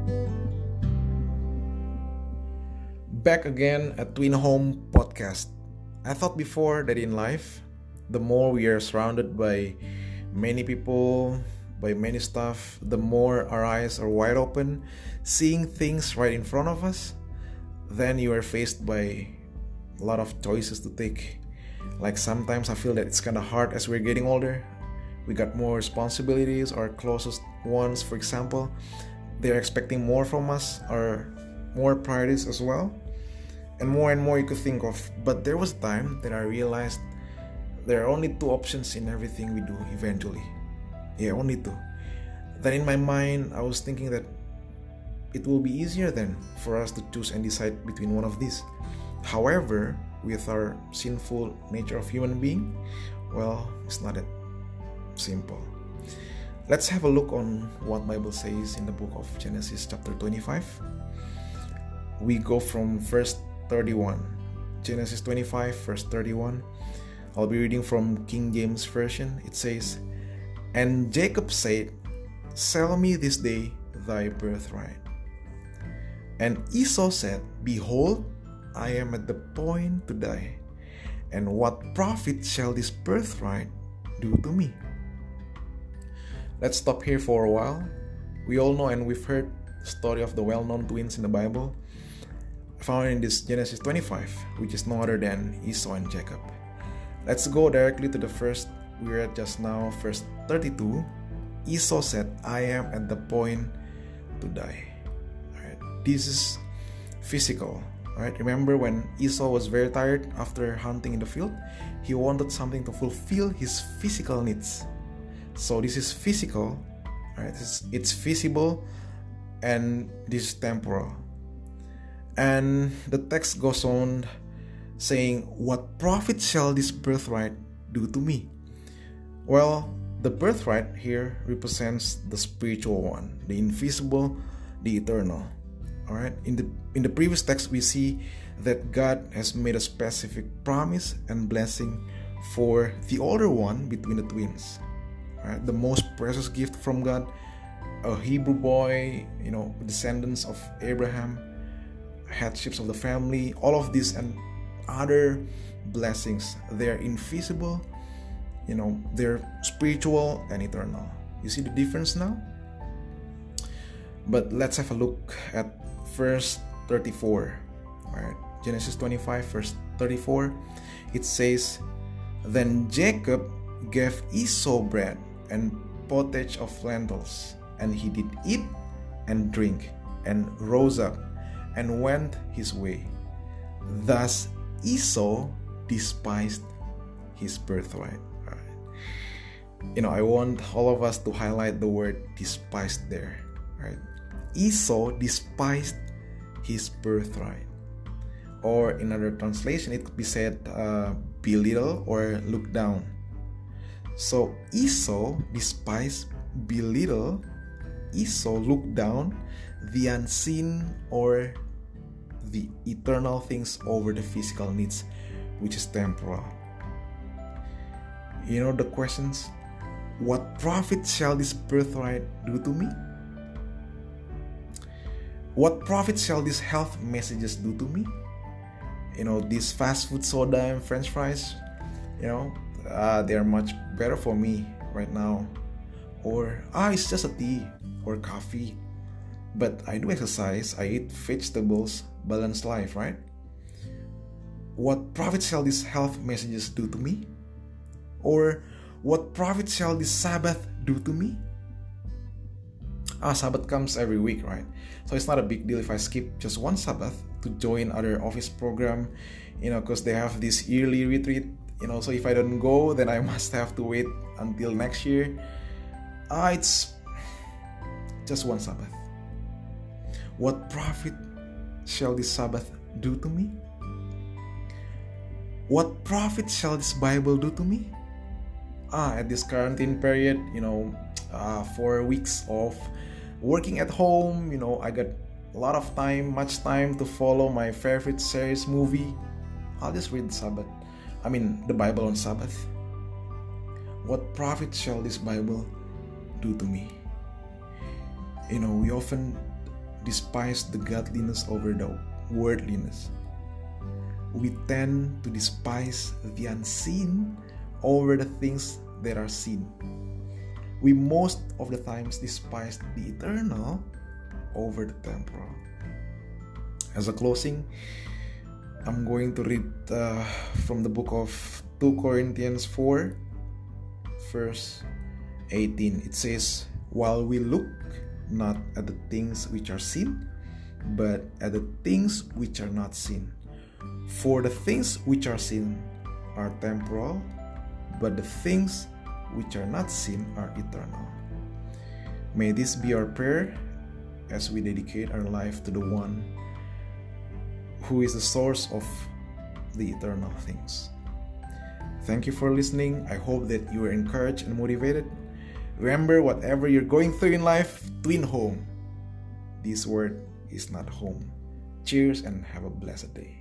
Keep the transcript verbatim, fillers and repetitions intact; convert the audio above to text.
Back again at Twin Home Podcast. I thought before that in life, the more we are surrounded by many people, by many stuff, the more our eyes are wide open, seeing things right in front of us, then you are faced by a lot of choices to take. Like sometimes I feel that it's kind of hard as we're getting older. We got more responsibilities. Our closest ones, for example, they're expecting more from us, or more priorities as well, and more and more you could think of. But there was a time that I realized there are only two options in everything we do eventually. Yeah, only two. Then in my mind, I was thinking that it will be easier then for us to choose and decide between one of these. However, with our sinful nature of human being, well, it's not that simple. Let's have a look on what Bible says in the book of Genesis chapter twenty-five. We go from verse thirty-one. Genesis twenty-five verse thirty-one. I'll be reading from King James Version. It says, "And Jacob said, Sell me this day thy birthright. And Esau said, Behold, I am at the point to die, and what profit shall this birthright do to me?" Let's stop here for a while. We all know and we've heard the story of the well-known twins in the Bible, found in this Genesis twenty-five, which is no other than Esau and Jacob. Let's go directly to the first we read just now, verse thirty-two. Esau said, I am at the point to die. Alright, this is physical. Alright, remember when Esau was very tired after hunting in the field? He wanted something to fulfill his physical needs. So this is physical, right? It's, it's visible, and this is temporal. And the text goes on saying, what profit shall this birthright do to me? Well, the birthright here represents the spiritual one, the invisible, the eternal. All right. In the in the previous text, we see that God has made a specific promise and blessing for the older one between the twins. All right, the most precious gift from God, a Hebrew boy, you know, descendants of Abraham, headships of the family, all of these and other blessings. They're invisible, you know, they're spiritual and eternal. You see the difference now? But let's have a look at verse thirty-four. All right, Genesis twenty-five, verse thirty-four. It says, Then Jacob gave Esau bread and pottage of lentils, and he did eat and drink, and rose up and went his way. Thus Esau despised his birthright. All right. You know, I want all of us to highlight the word despised there. Right? Esau despised his birthright. Or in another translation, it could be said uh, belittle or look down. So Esau despised, belittle, Esau looked down the unseen or the eternal things over the physical needs, which is temporal. You know the questions? What profit shall this birthright do to me? What profit shall these health messages do to me? You know, this fast food soda and french fries, you know, uh, they are much better for me right now. Or, ah, it's just a tea or coffee. But I do exercise, I eat vegetables, balanced life, right? What profit shall these health messages do to me? Or, what profit shall this Sabbath do to me? Ah, Sabbath comes every week, right? So it's not a big deal if I skip just one Sabbath to join other office program, you know, because they have this yearly retreat, you know, so if I don't go, then I must have to wait until next year. Ah, it's just one Sabbath. What profit shall this Sabbath do to me? What profit shall this Bible do to me? Ah, at this quarantine period, you know, uh, four weeks of working at home, you know, I got a lot of time, much time to follow my favorite series movie. I'll just read the Sabbath. I mean, the Bible on Sabbath. What profit shall this Bible do to me? You know, we often despise the godliness over the worldliness. We tend to despise the unseen over the things that are seen. We most of the times despise the eternal over the temporal. As a closing, I'm going to read uh, from the book of Second Corinthians four, verse eighteen. It says, "While we look not at the things which are seen, but at the things which are not seen. For the things which are seen are temporal, but the things which are not seen are eternal." May this be our prayer as we dedicate our life to the one who is the source of the eternal things. Thank you for listening. I hope that you are encouraged and motivated. Remember, whatever you're going through in life, twin home. This word is not home. Cheers and have a blessed day.